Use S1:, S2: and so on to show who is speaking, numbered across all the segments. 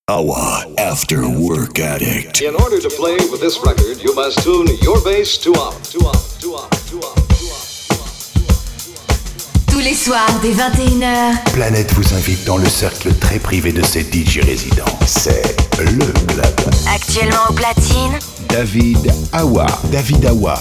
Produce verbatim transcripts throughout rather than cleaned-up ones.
S1: Awa After Work Addict.
S2: In order to play with this record, you must tune your bass to off, to off, to off, to off, to off.
S3: Tous les soirs, dès vingt et une heures,
S4: Planète vous invite dans le cercle très privé de ses D J résidents. C'est le club.
S3: actuellement au platine,
S4: David Awa. David Awa.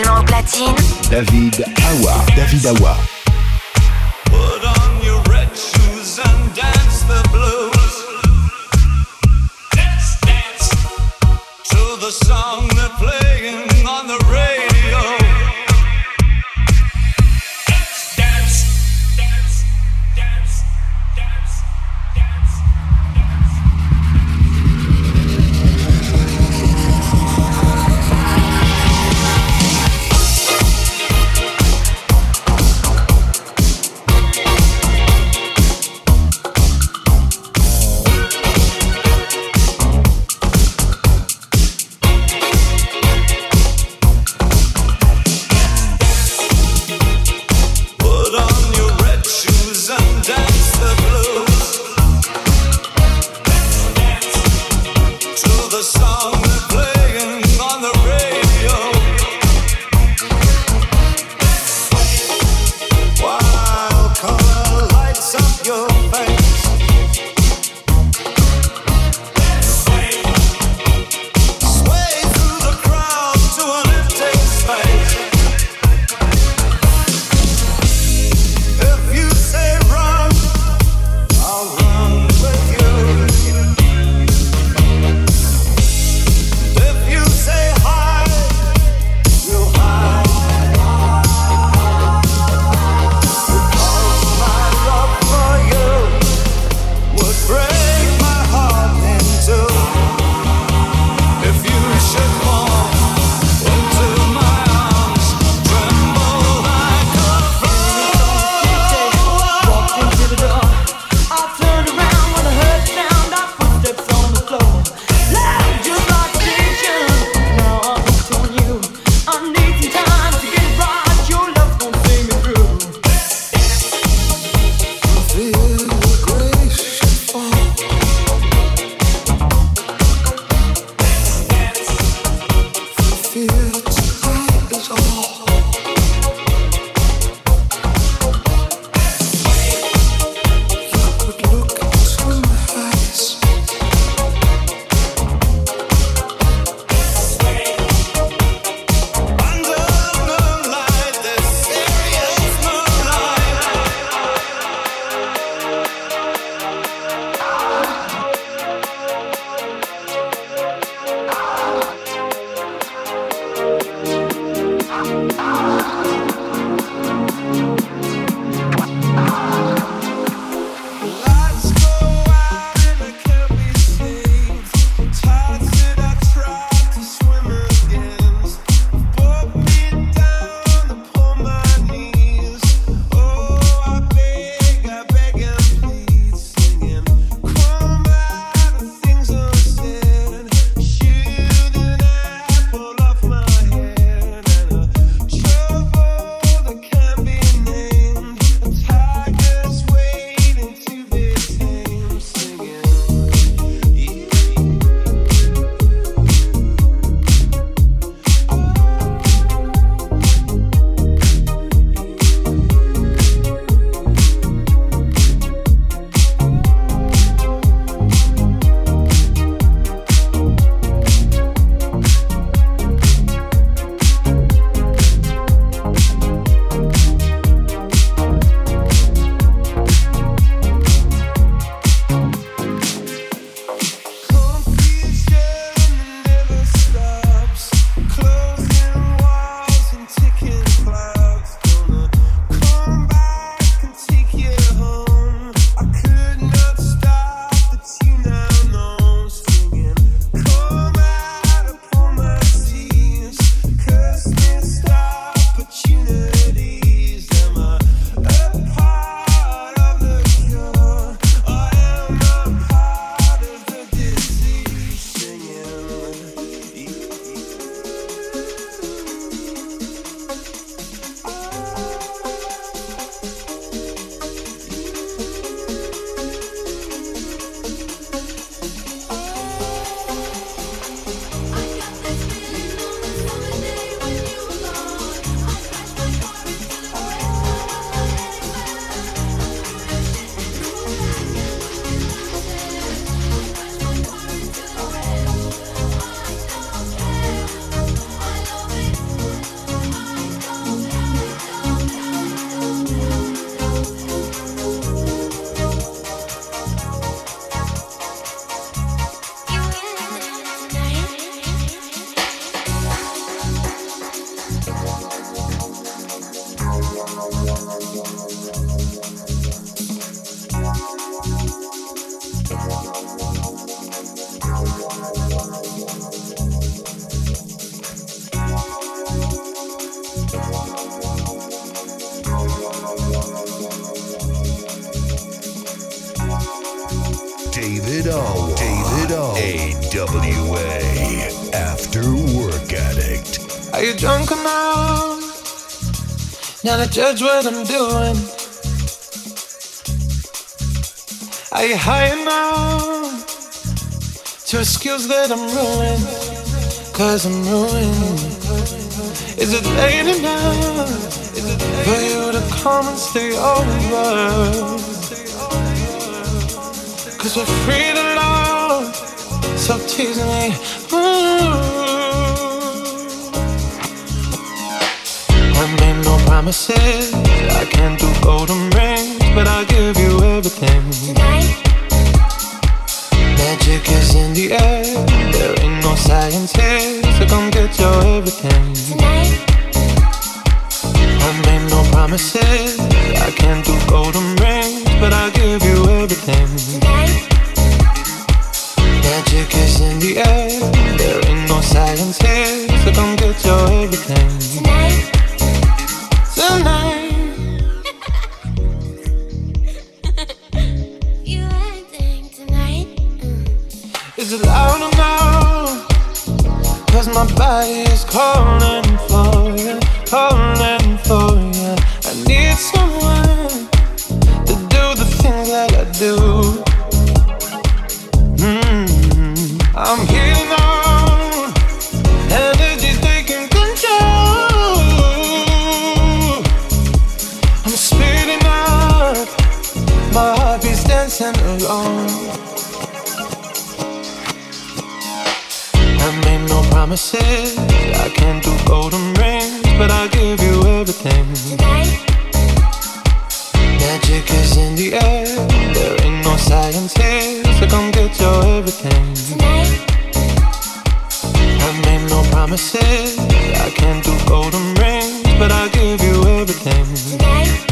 S3: Actuellement au platine,
S4: David Awa. David Awa.
S5: Put on your red shoes and dance the blues. Dance, dance to the song they're playing on the radio. Dance, dance, dance, dance, dance, dance, dance.
S4: A W A, After Work Addict.
S6: Are you drunk enough now to judge what I'm doing? Are you high enough to excuse that I'm ruined? Cause I'm ruined. Is it late enough for you to come and stay over? Cause we're free to love, so tease me. Ooh. I made no promises, I can't do golden rings, but I'll give you everything. Tonight. Magic is in the air, there ain't no science here, so come get your everything. Tonight. I made no promises, I can't do golden rings, but I'll give you everything. Tonight. Magic is in the air, there ain't no science here, so come get your everything. Tonight. Tonight. You acting tonight. Mm. Is it loud enough? Cause my body is calling for you, calling for you. I need someone to do the things that I do. Mm. I'm here now, energy's taking control. I'm speeding up, my heartbeat's dancing alone. I made no promises, I can't do golden rings, but I'll give you everything. Tonight. Magic is in the air, there ain't no science here, so come get your everything. Tonight. I made no promises, I can't do golden rings, but I'll give you everything. Tonight.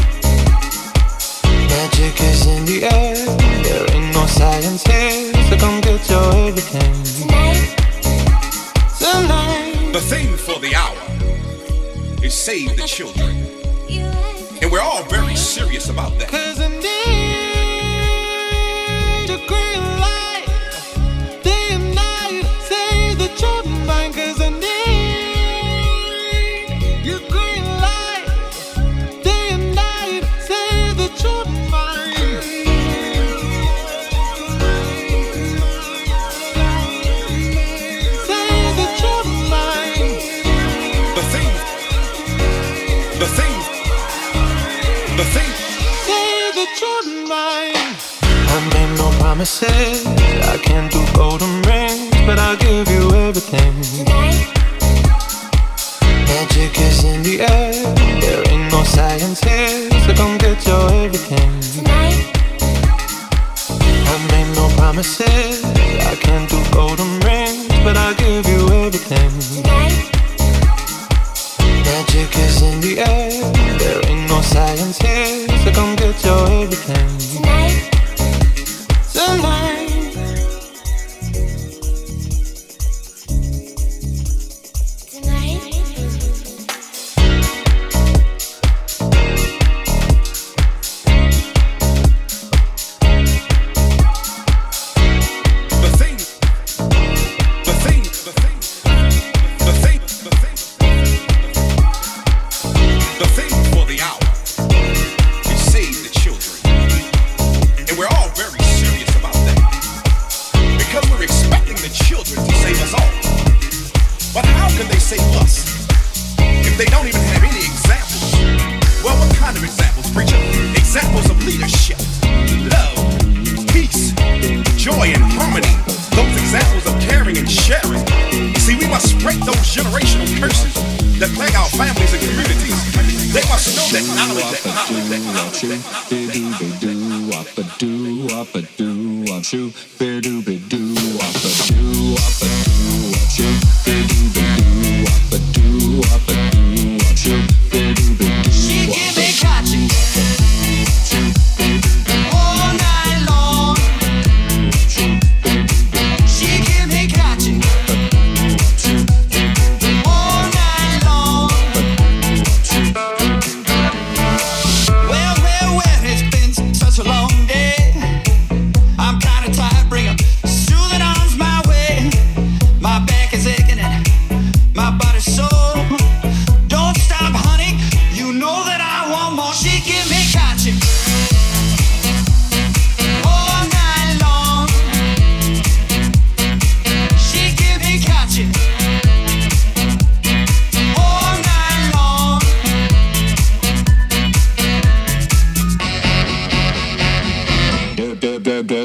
S6: Magic is in the air, there ain't no science here, so come get your everything. Tonight. Tonight.
S7: The theme for the hour is save the children. And we're all very serious about that.
S6: Cause I need a green light, day and night, save the children mine. Cause I need your green light, day and night, save the children mine. Save the children mine.
S7: The thing, the thing, the thing.
S6: Save the children mine. I made no promises, I can't do golden rings, but I'll give you everything. Tonight. Magic is in the air, there ain't no science here, so come get your everything. Tonight. I made no promises, I can't do golden rings, but I'll give you everything. Tonight. Magic is in the air, there ain't no science here, so come get your everything. Tonight. Tonight.
S8: Long day, I'm kinda tired. Bring 'em soothing arms my way.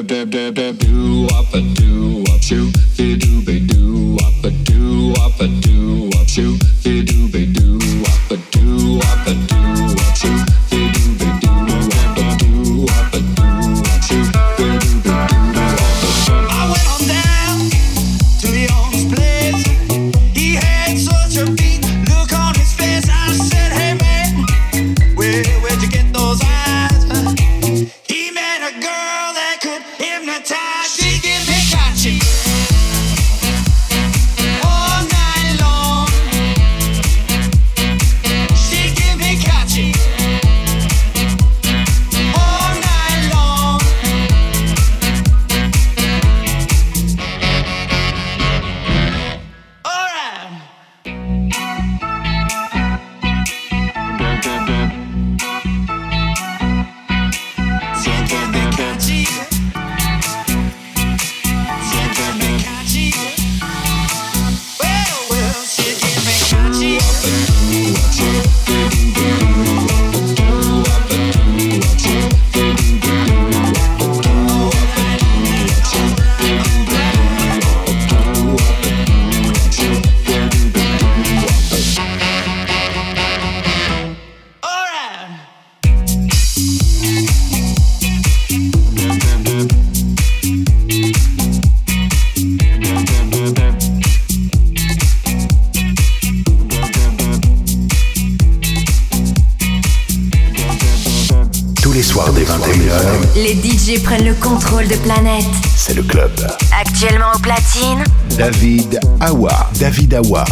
S3: Les D J prennent le contrôle de Planète.
S4: C'est le club.
S3: Actuellement au platine,
S4: David Awa. David Awa.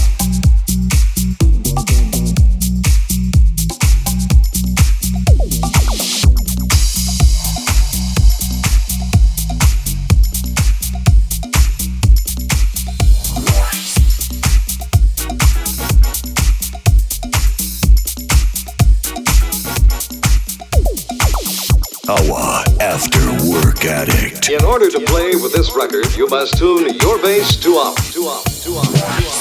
S1: Awa After Work Addict.
S2: In order to play with this record, you must tune your bass to off, to off, to off, to off.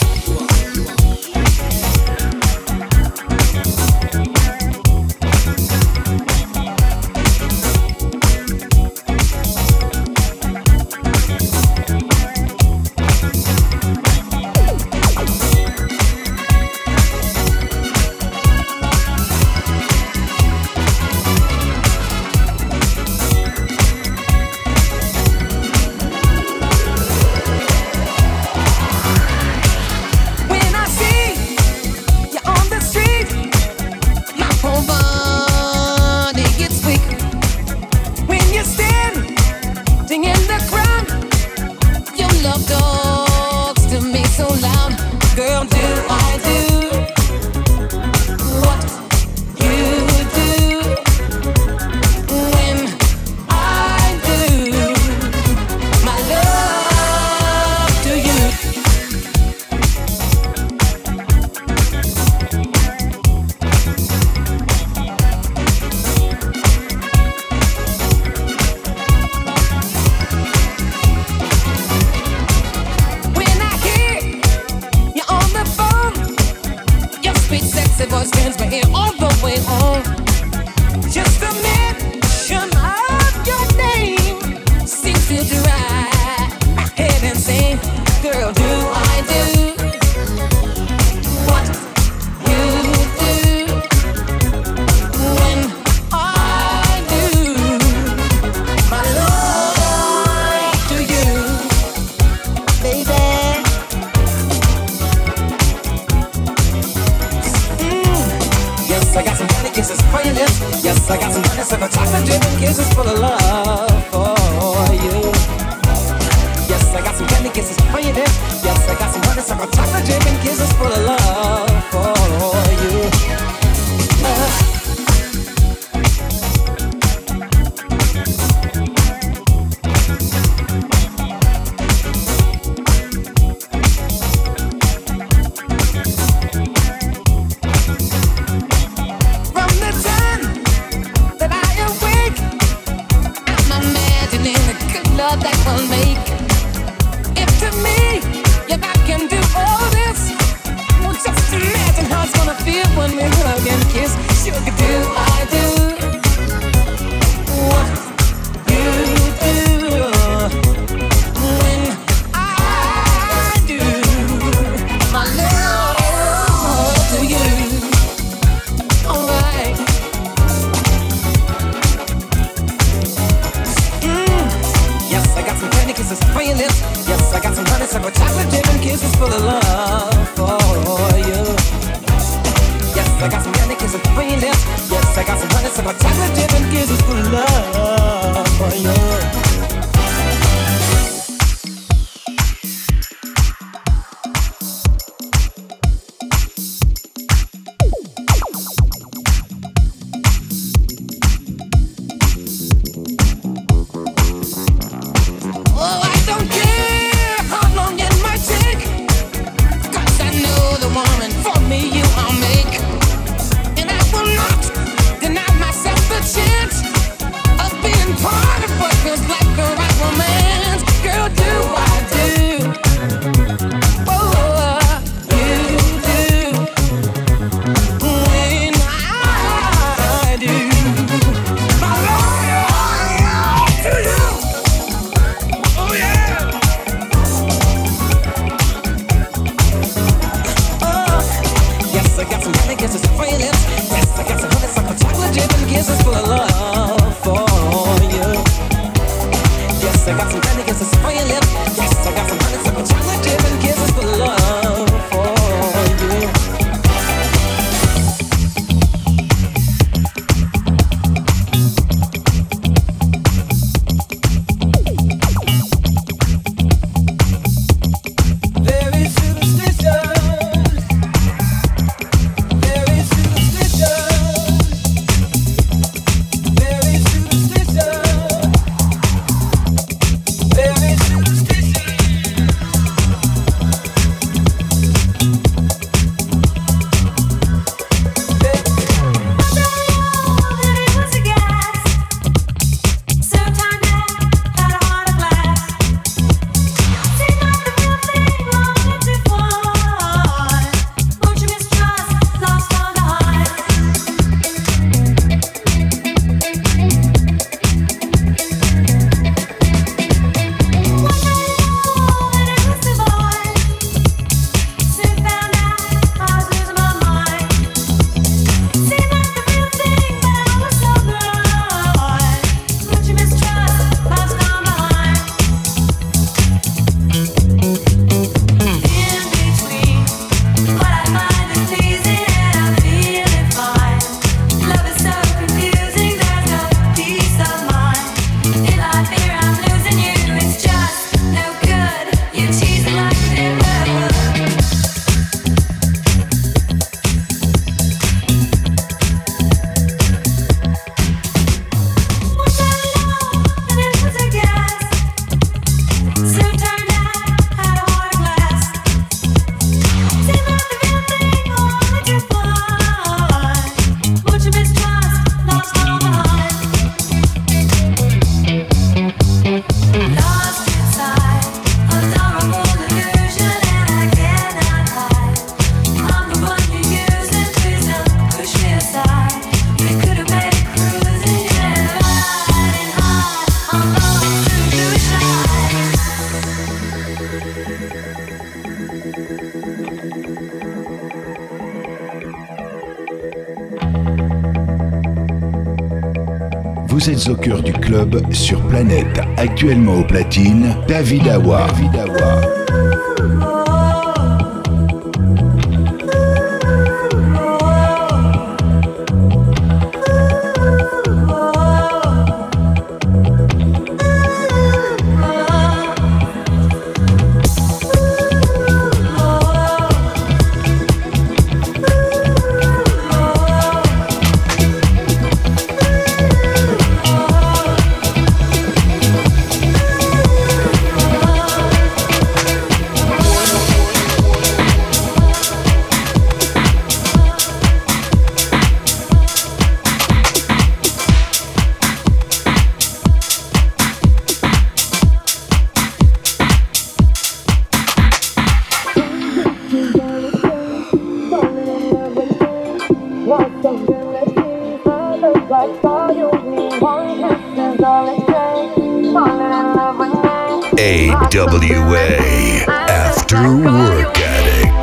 S6: Do I got some candy kisses for your lips. Yes, I got some honey, some chocolate dip and kisses for love for you.
S4: Vous êtes au cœur du club sur Planète, actuellement au platine, David Awa. David Awa.
S1: A W A, After Work Addict.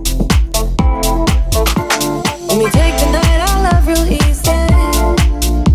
S8: When we take the night, I love real easy.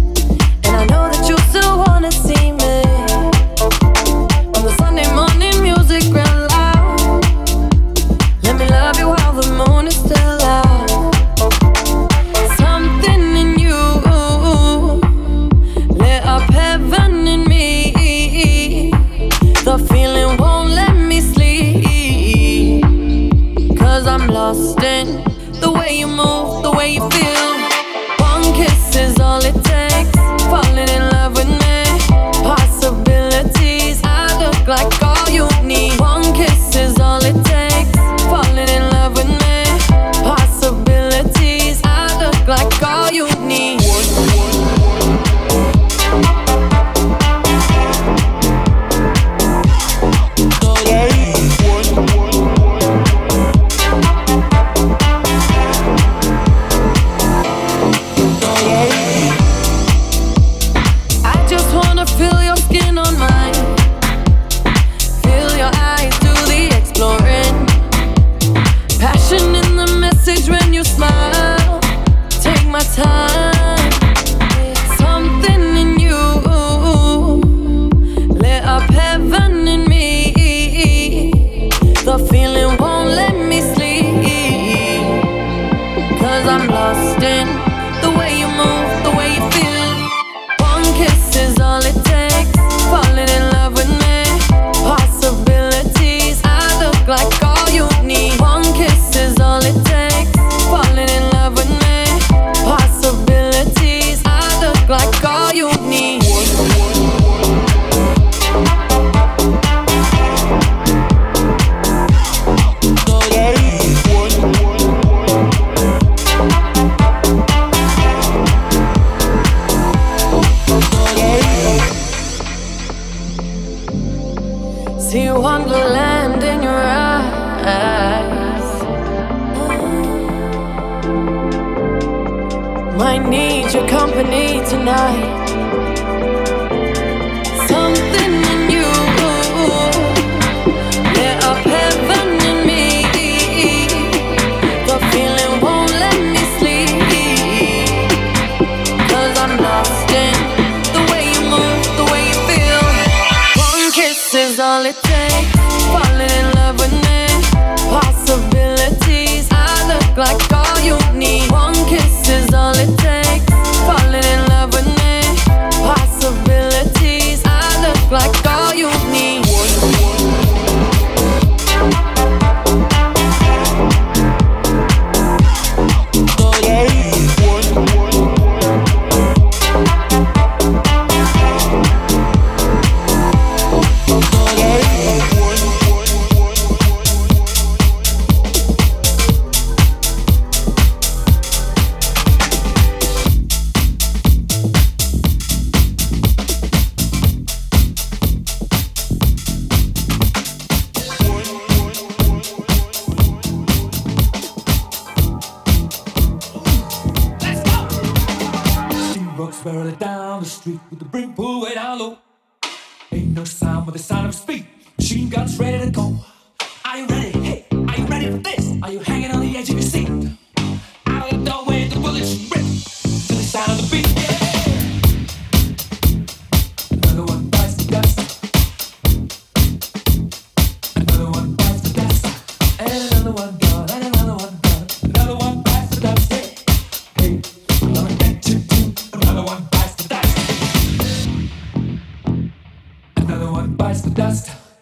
S8: wonderland in your eyes. Might need your company tonight. Something in you lit up heaven in me. The feeling won't let me sleep, 'cause I'm lost in the way you move, the way you feel. One kiss is all it takes. Falling in love with me. Possibilities, I look like all you need. One kiss is all it takes. Falling in love with me. Possibilities, I look like all you need.
S9: Barreling down the street with the brim pulled way down low. Ain't no sound but the sound of speed. Machine guns ready to go. Are you ready? Hey, are you ready for this? Are you hanging on the edge of your seat? Out of the doorway, the bullets rip to the sound of the beat. Yeah. Another one bites the dust. Another one bites the dust. And another one gone. And another one gone. Another one bites the dust. Hey, hey, I'm gonna get you too. Another one bites the dust. Another one bites the dust.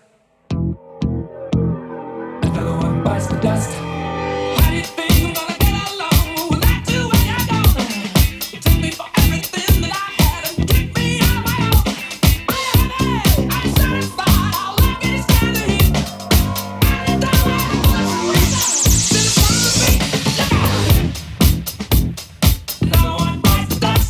S9: Another one bites the dust. How do you think we're gonna get along without you when you're gone? You took me for everything that I had and took me on my own. I am it. I'm satisfied. All I can is stand here. And it's all right. This is one for me. Look out. Another one bites the dust.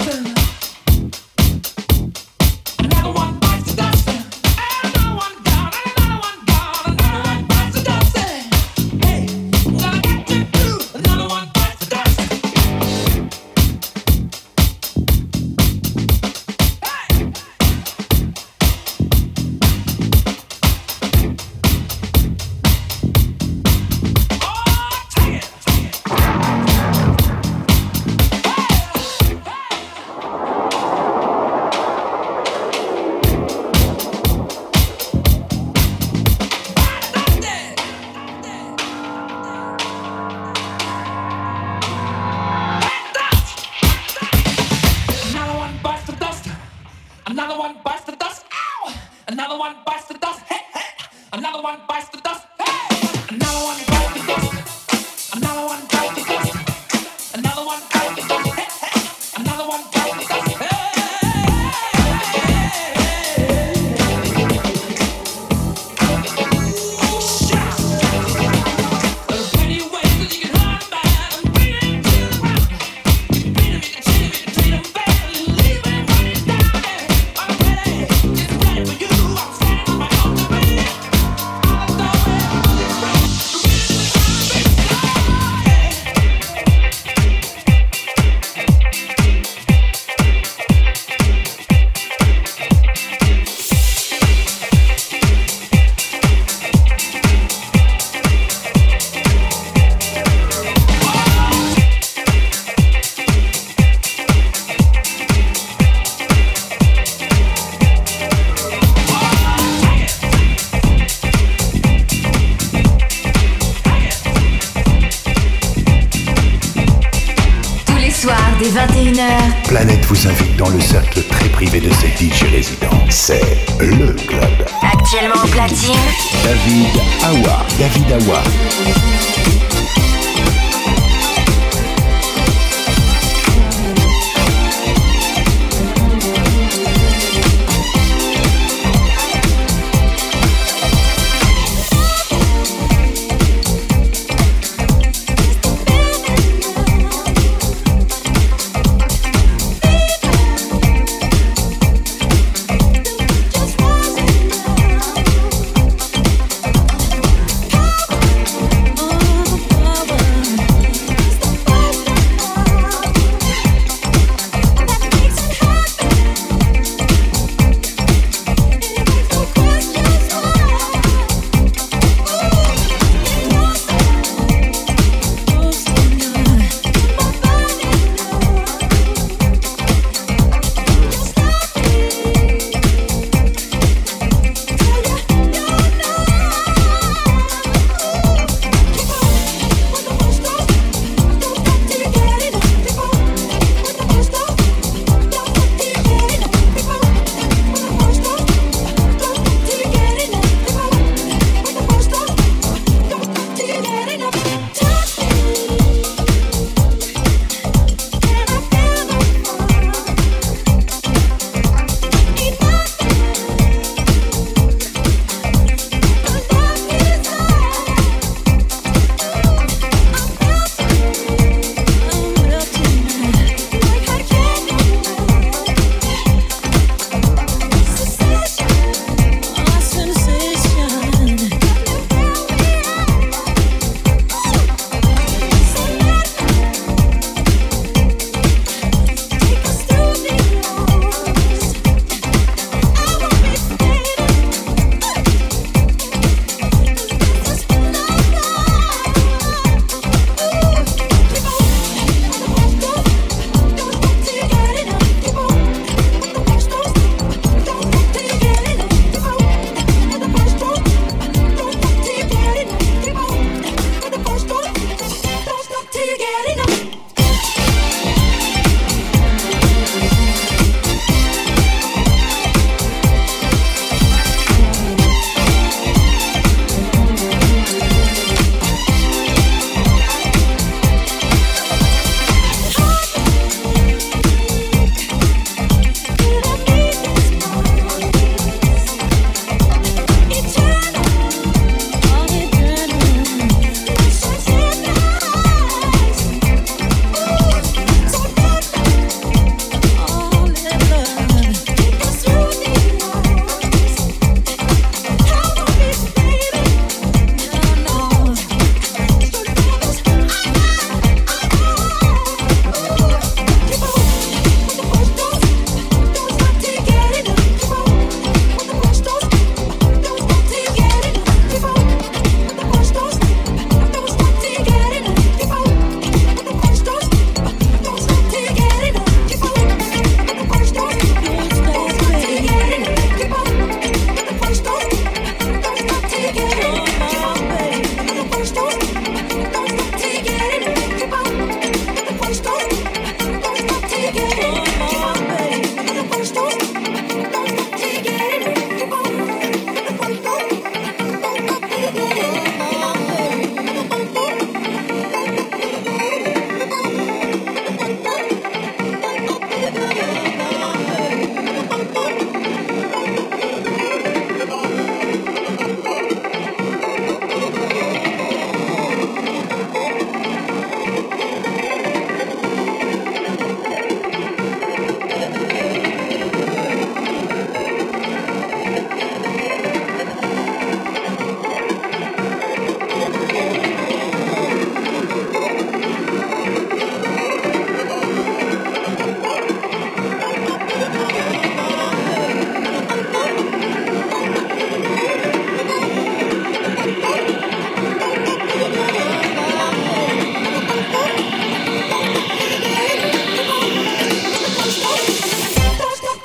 S9: Another one bites the dust. Another one gone. Another one gone. Another one bites the dust. Hey, I'm gonna get you too. Another one bites the dust. Hey. Oh, take it. Another one bites the dust. Another one bites the dust. Ow! Another one bites the dust. Hey, hey. Another one bites the dust. Hey! Another one bites the dust. Another one bites the dust. Another one bites the dust. Hey, hey. Another one bites the dust. Hey! There's plenty of ways that you can hurt a man and beat him to the ground. You can beat him, you can cheat him, you can treat him bad, leave him when he's down. I'm ready, it's ready for you. I'm standing on my own to be. All the way, bullets rip.
S3: Tous les soirs dès vingt et une heures,
S4: Planète vous invite dans le cercle très privé de ses D J résidents. C'est le club.
S3: actuellement au platine,
S4: David Awa. David Awa.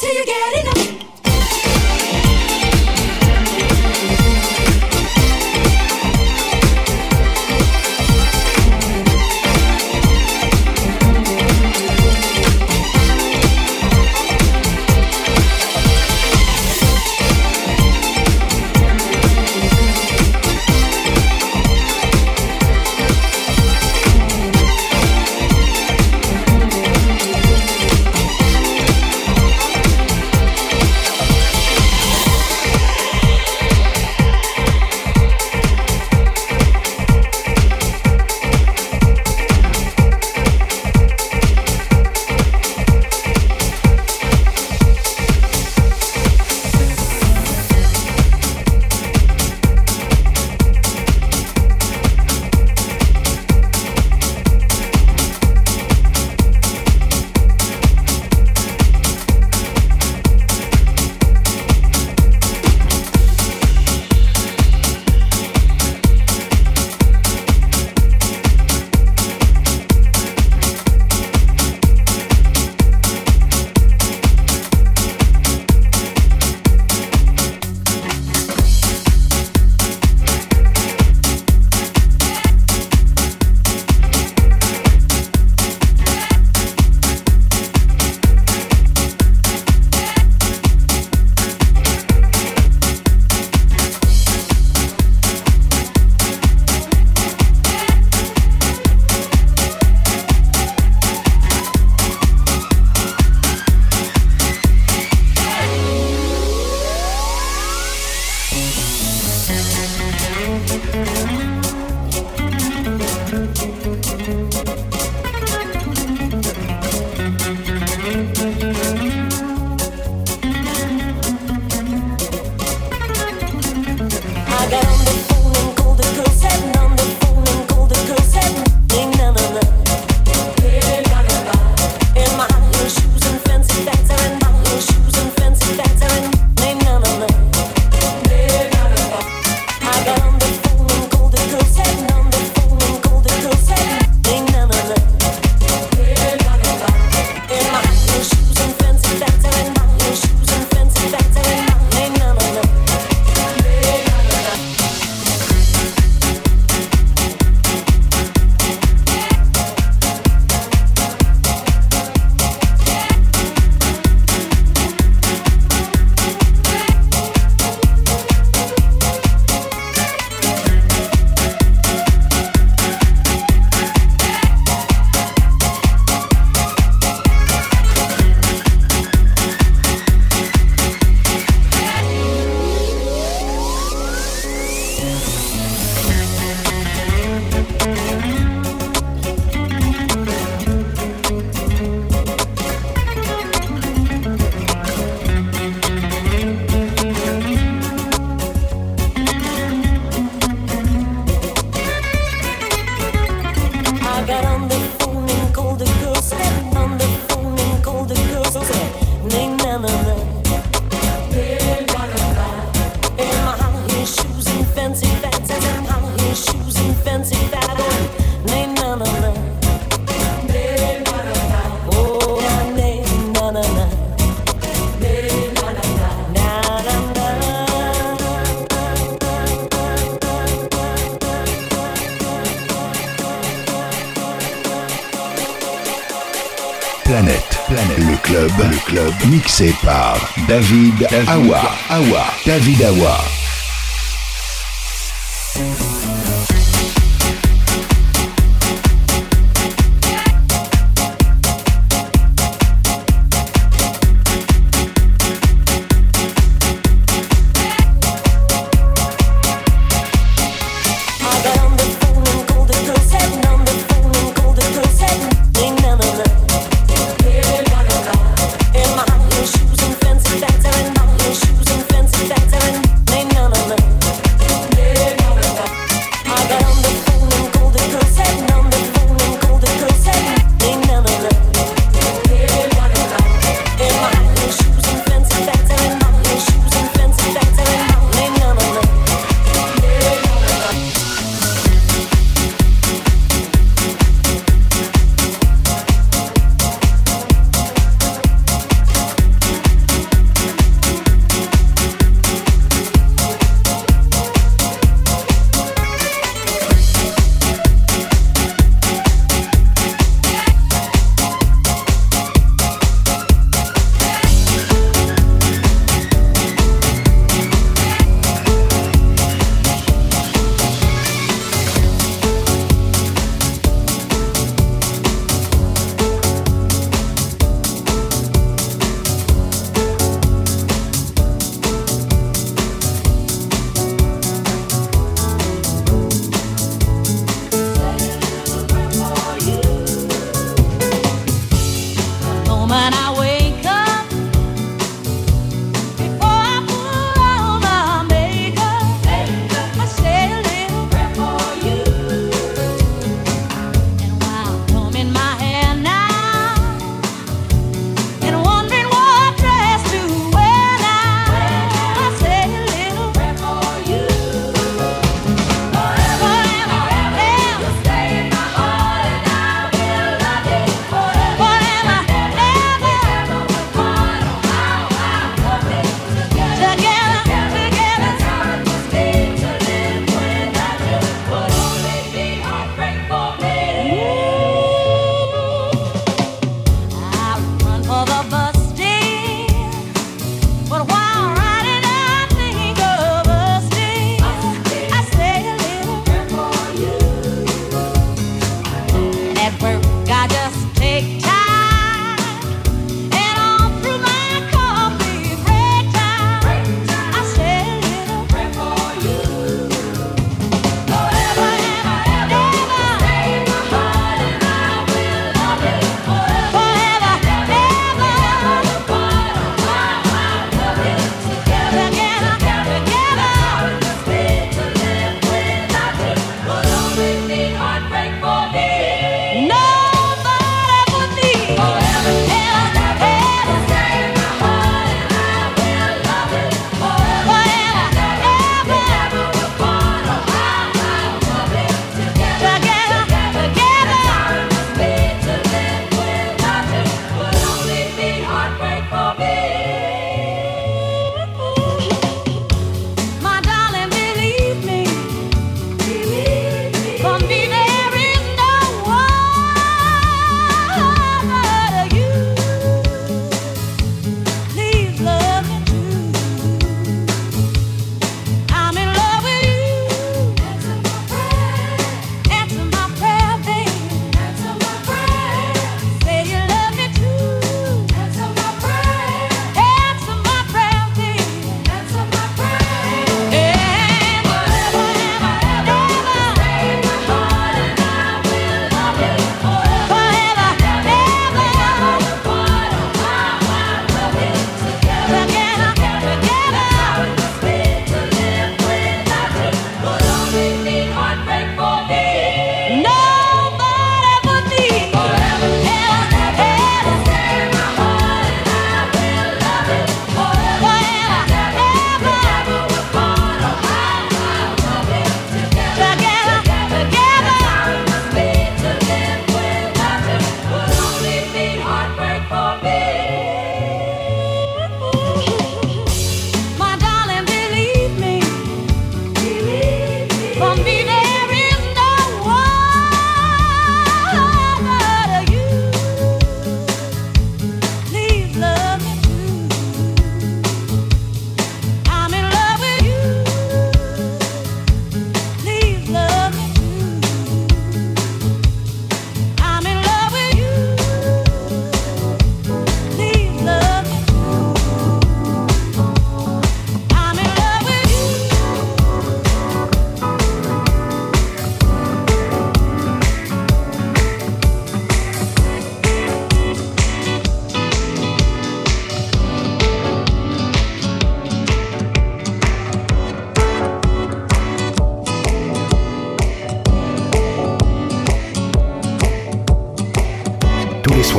S4: Planète, Planète, le club, le club, mixé par David, David Awa, Awa, David Awa.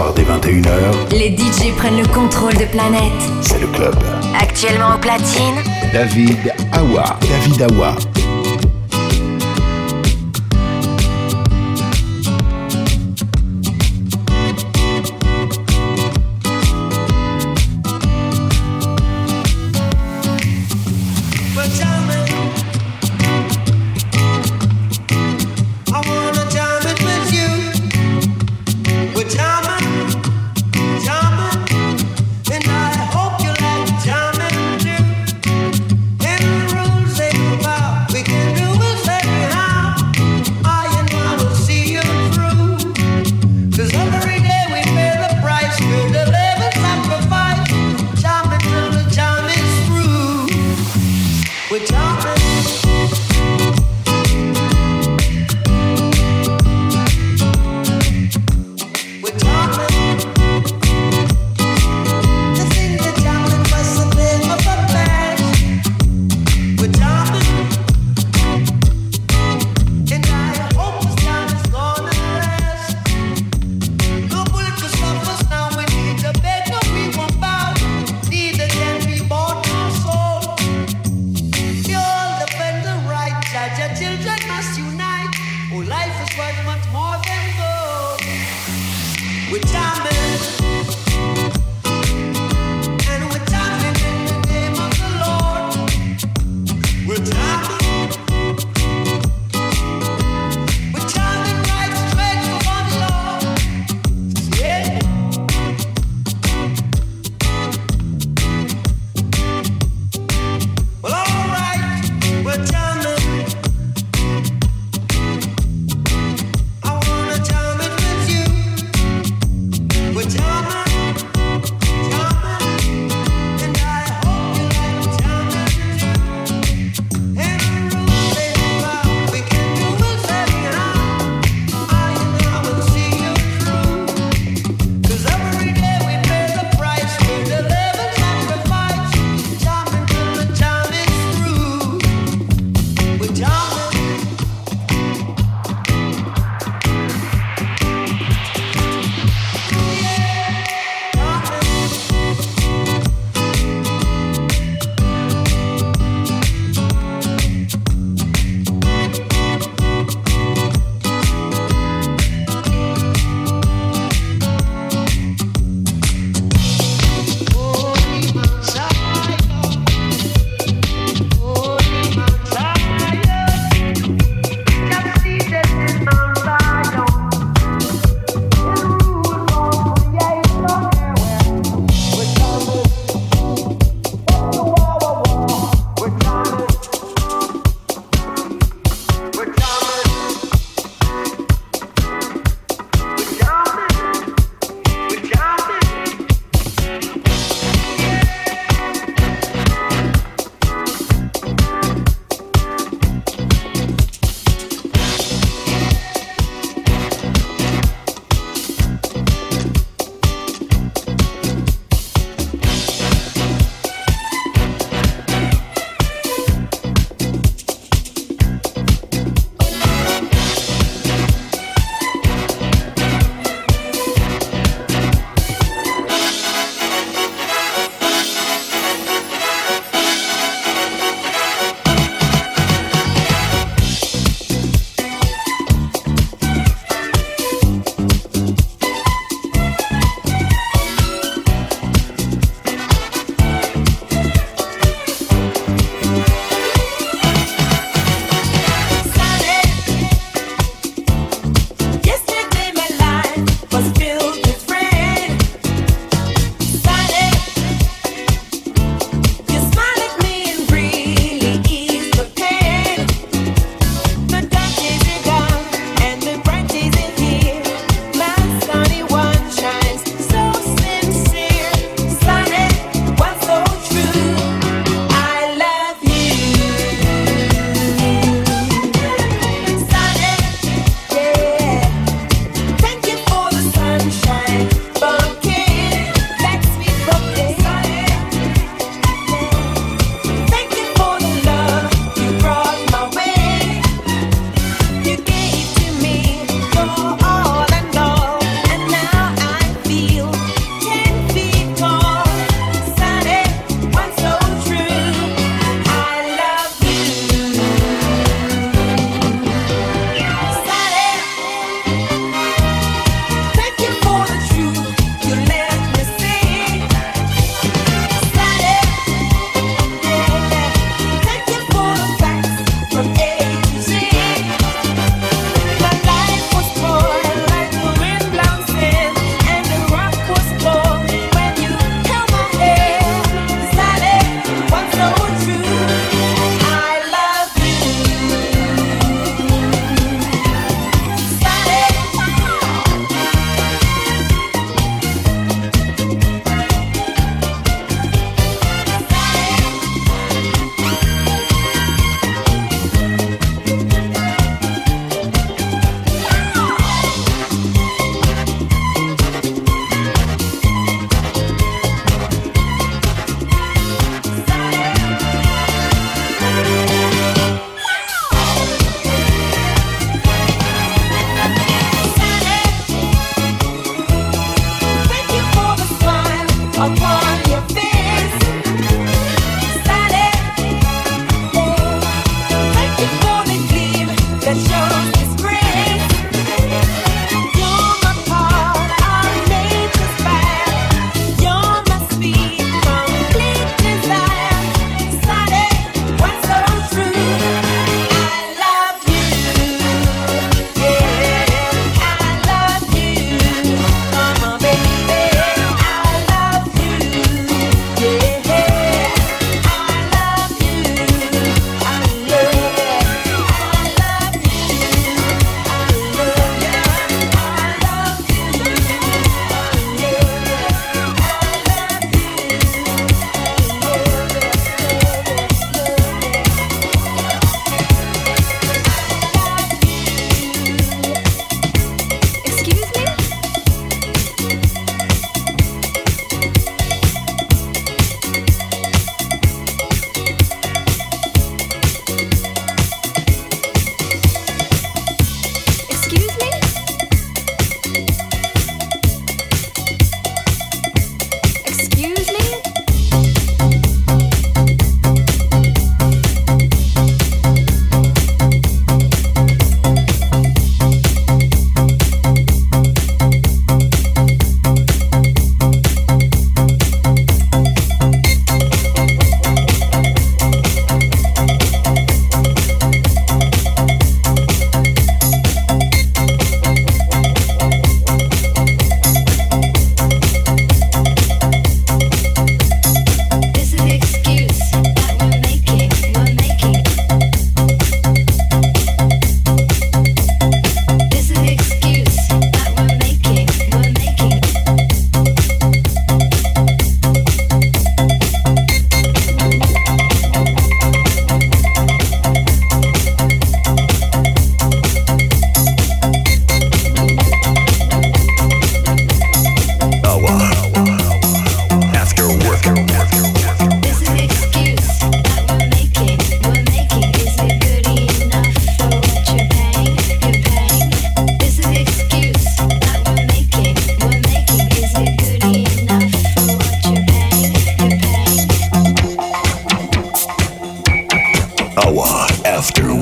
S4: soirs dès vingt et une heures,
S3: les D J prennent le contrôle de Planète.
S4: c'est le club.
S3: Actuellement au platine,
S4: David Awa. David Awa.
S10: We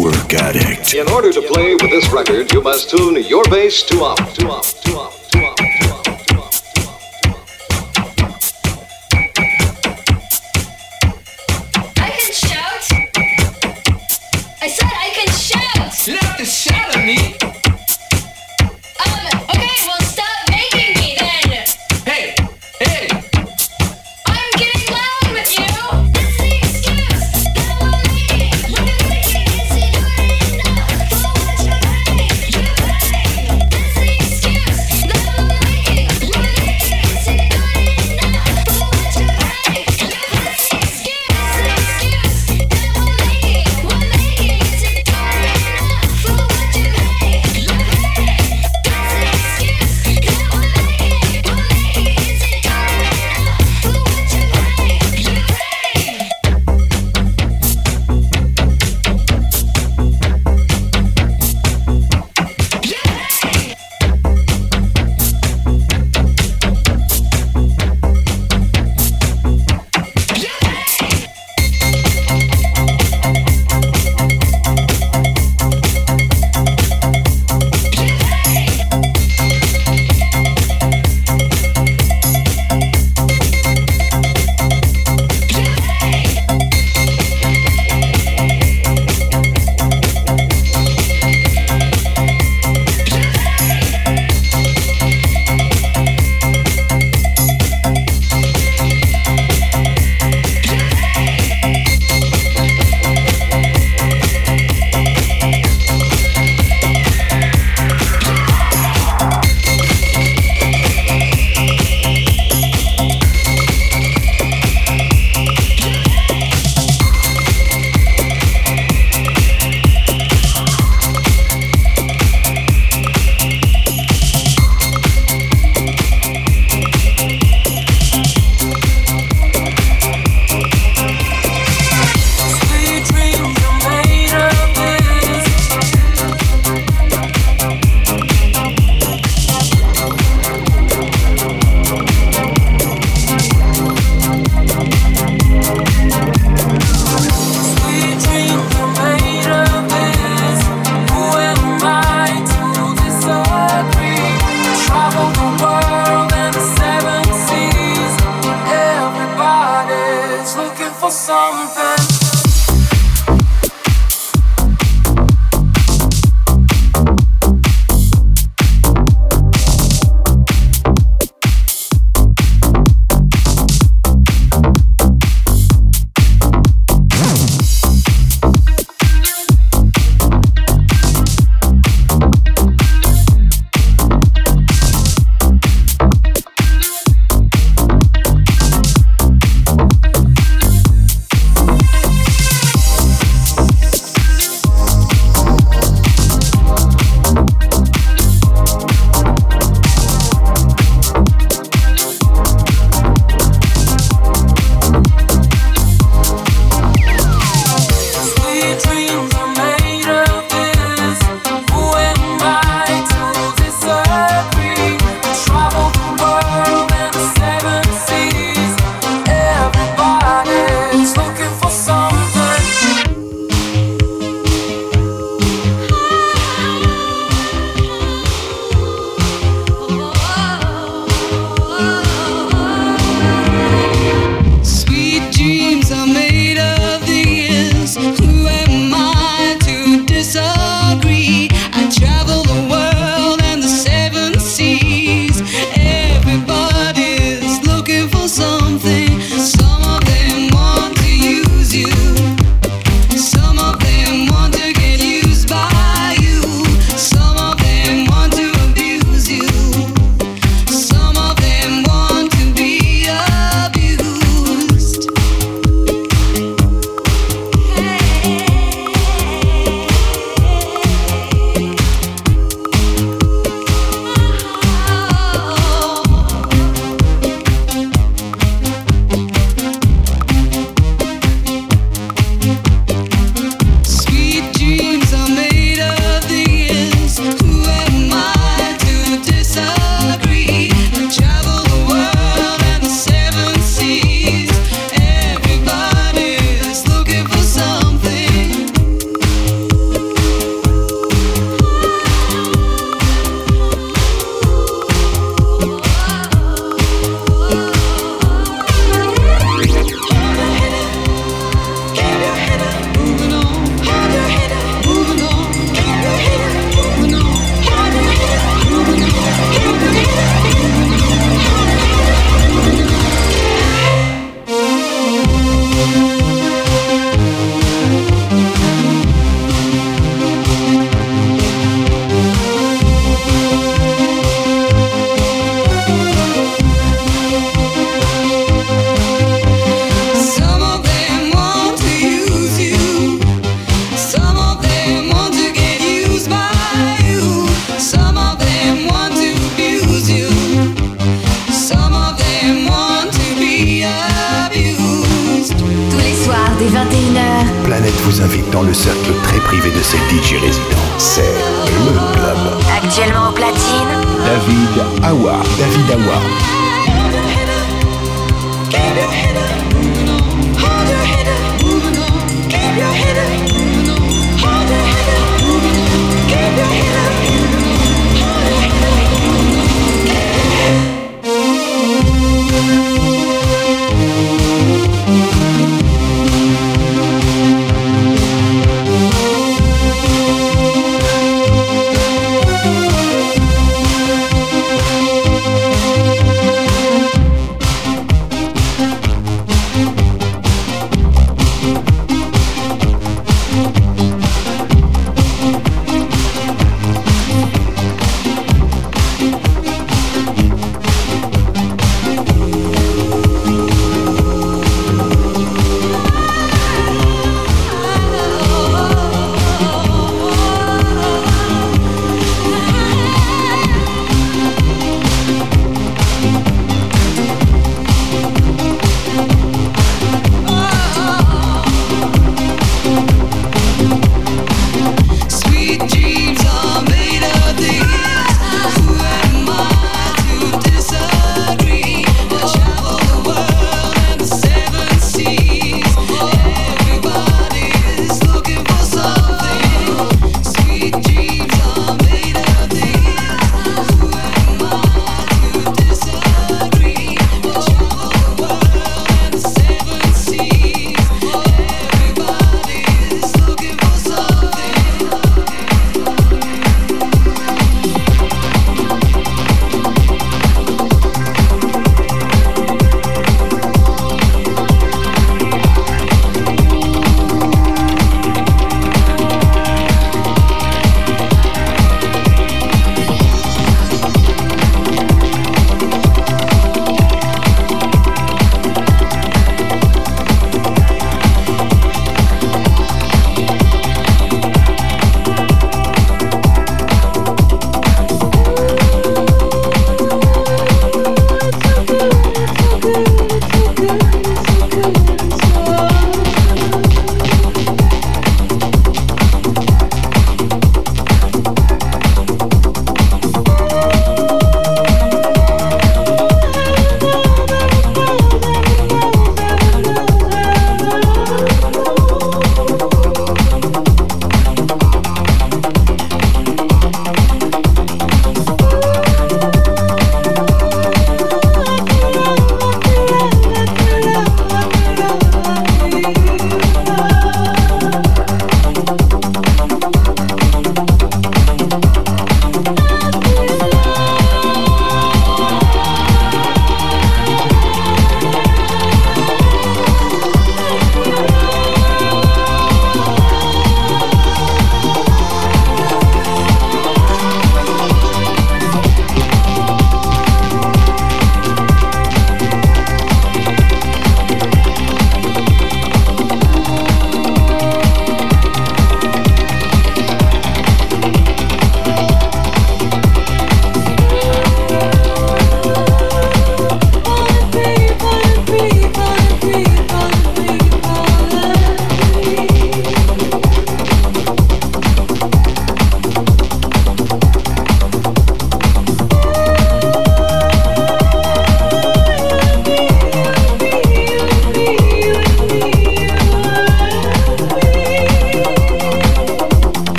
S4: Work Addict.
S2: In order to play with this record, you must tune your bass to off, to off, to off, to off, to off, to off, to off.
S10: I can shout. I said I can shout.
S9: You don't have to shout at me.
S10: Um, okay, well stop making me then.
S9: Hey, hey.
S10: I'm getting loud with you. That's the excuse that I'm making. Look at me, is he doing enough for what you pay? You pay. That's the excuse that I'm making. Look at me, is he doing enough for what you pay? That's the excuse, the excuse that I'm making. We're making, is he doing enough for what you pay? You pay. That's the excuse that we're making. We're making, is he doing enough for what you pay? You pay.
S9: Sweet dreams are made of this. Sweet dreams are made of this. Who am I to disagree? Travel the world and the seven seas. Everybody's looking for something.
S10: You
S3: dès vingt et une heures.
S4: Planète vous invite dans le cercle très privé de ses D J résidents. C'est le club.
S3: Actuellement au platine,
S4: David Awa. David Awa.
S8: Keep your head up, hold your head up, keep your head up, hold your head up, keep your head up, hold your head up.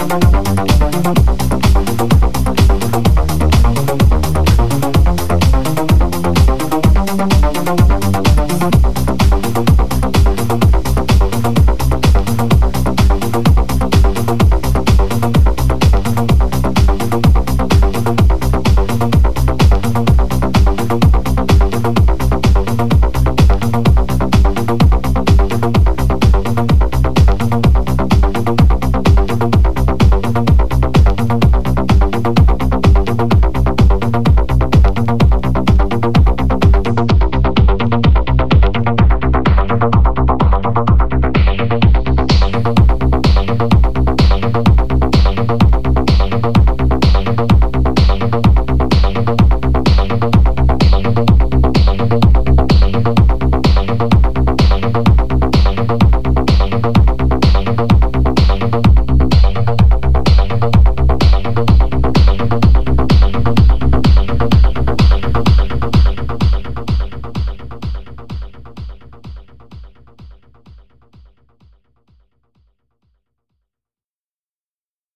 S6: Thank